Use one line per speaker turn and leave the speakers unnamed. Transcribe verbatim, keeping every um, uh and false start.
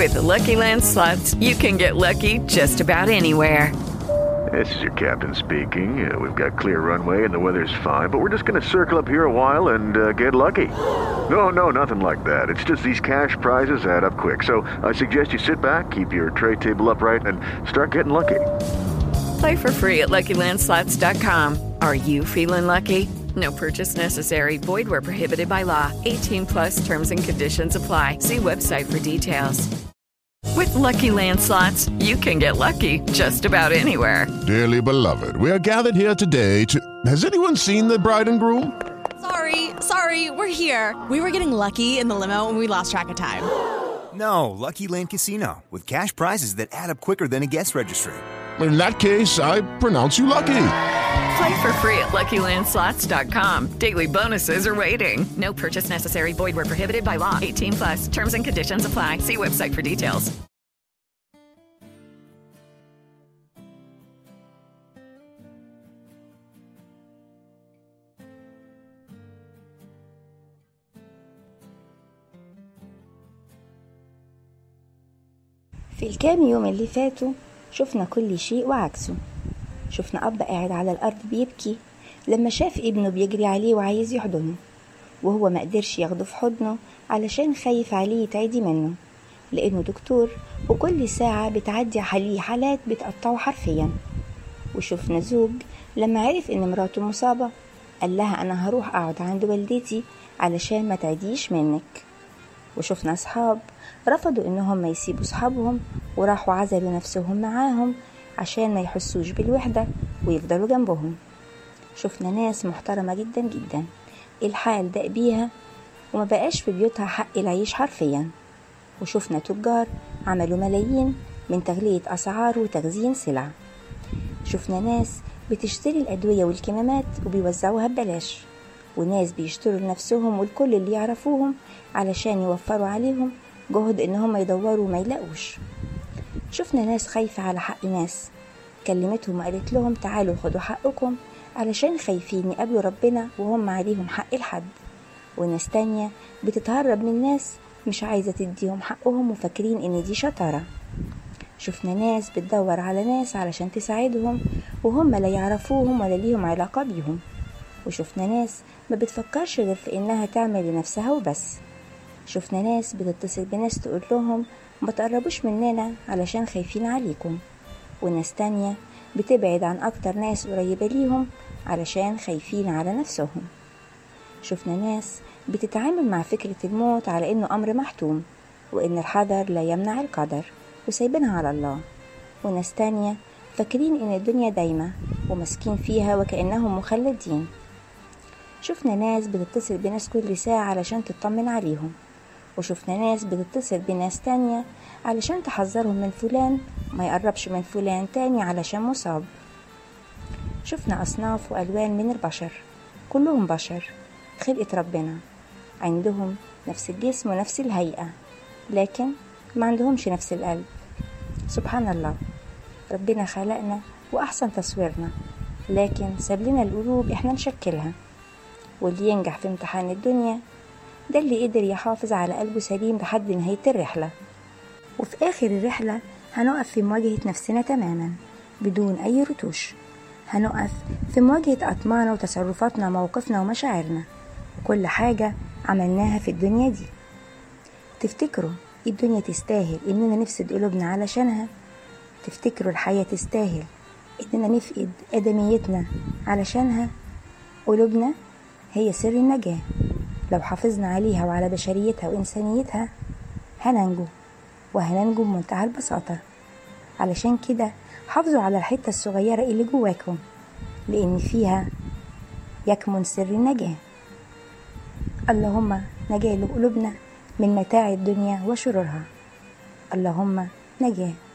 With the Lucky Land Slots, you can get lucky just about anywhere.
This is your captain speaking. Uh, we've got clear runway and the weather's fine, but we're just going to circle up here a while and uh, get lucky. No, no, nothing like that. It's just these cash prizes add up quick. So I suggest you sit back, keep your tray table upright, and start getting lucky.
Play for free at Lucky Land Slots dot com. Are you feeling lucky? No purchase necessary. Void where prohibited by law. eighteen plus terms and conditions apply. See website for details. With Lucky Land Slots, you can get lucky just about anywhere.
Dearly beloved, we are gathered here today to... Has anyone seen the bride and groom?
Sorry, sorry, we're here. We were getting lucky in the limo and we lost track of time.
No, Lucky Land Casino, with cash prizes that add up quicker than a guest registry.
In that case, I pronounce you lucky.
Play for free at Lucky Land Slots dot com. Daily bonuses are waiting. No purchase necessary. Void where prohibited by law. eighteen plus. Terms and conditions apply. See website for details.
في الكام يوم اللي فاتوا شفنا كل شيء وعكسه. شفنا أب قاعد على الأرض بيبكي لما شاف ابنه بيجري عليه وعايز يحضنه، وهو ما قدرش ياخده في حضنه علشان خايف عليه يتعدي منه، لأنه دكتور وكل ساعة بتعدي عليه حالات بتقطعه حرفيا. وشفنا زوج لما عرف إن مراته مصابة قال لها أنا هروح أقعد عند والدتي علشان ما تعديش منك. وشفنا أصحاب رفضوا إنهم ما يسيبوا صحابهم وراحوا عزلوا نفسهم معاهم عشان ما يحسوش بالوحدة ويفضلوا جنبهم. شفنا ناس محترمة جدا جدا الحال دق بيها وما بقاش في بيوتها حق العيش حرفيا. وشفنا تجار عملوا ملايين من تغلية أسعار وتخزين سلع. شفنا ناس بتشتري الأدوية والكمامات وبيوزعوها ببلاش، وناس بيشتروا لنفسهم والكل اللي يعرفوهم علشان يوفروا عليهم جهد إنهم يدوروا وما يلاقوش. شفنا ناس خايفة على حق ناس كلمتهم وقالت لهم تعالوا خدوا حقكم علشان خايفين يقابلوا ربنا وهم عليهم حق الحد. وناس تانية بتتهرب من ناس مش عايزة تديهم حقهم وفاكرين إن دي شطارة. شفنا ناس بتدور على ناس علشان تساعدهم وهم لا يعرفوهم ولا ليهم علاقة بيهم. وشفنا ناس ما بتفكرش غير في إنها تعمل لنفسها وبس. شفنا ناس بتتصل بناس تقول لهم ما تقربوش مننا علشان خايفين عليكم، وناس تانية بتبعد عن أكتر ناس قريبة ليهم علشان خايفين على نفسهم. شفنا ناس بتتعامل مع فكرة الموت على إنه أمر محتوم وإن الحذر لا يمنع القدر وسايبينها على الله. وناس تانية فاكرين إن الدنيا دايمة ومسكين فيها وكأنهم مخلدين. شفنا ناس بتتصل بناس كل ساعة علشان تطمن عليهم، وشفنا ناس بتتصل بناس تانية علشان تحذرهم من فلان ما يقربش من فلان تاني علشان مصاب. شفنا أصناف وألوان من البشر كلهم بشر خلقة ربنا، عندهم نفس الجسم ونفس الهيئة لكن ما عندهمش نفس القلب. سبحان الله، ربنا خلقنا وأحسن تصويرنا لكن ساب لنا القلوب إحنا نشكلها. واللي ينجح في امتحان الدنيا ده اللي قدر يحافظ على قلبه سليم لحد نهاية الرحلة. وفي آخر الرحلة هنقف في مواجهة نفسنا تماما بدون أي رتوش. هنقف في مواجهة أطماعنا وتصرفاتنا وموقفنا ومشاعرنا وكل حاجة عملناها في الدنيا دي. تفتكروا الدنيا تستاهل إننا نفسد قلوبنا علشانها؟ تفتكروا الحياة تستاهل إننا نفقد آدميتنا علشانها؟ قلوبنا هي سر النجاة، لو حافظنا عليها وعلى بشريتها وإنسانيتها هننجو، وهننجو بمنتهى البساطة. علشان كده حافظوا على الحتة الصغيرة اللي جواكم لأن فيها يكمن سر النجاة. اللهم نجاة لقلوبنا من متاع الدنيا وشرورها. اللهم نجاة.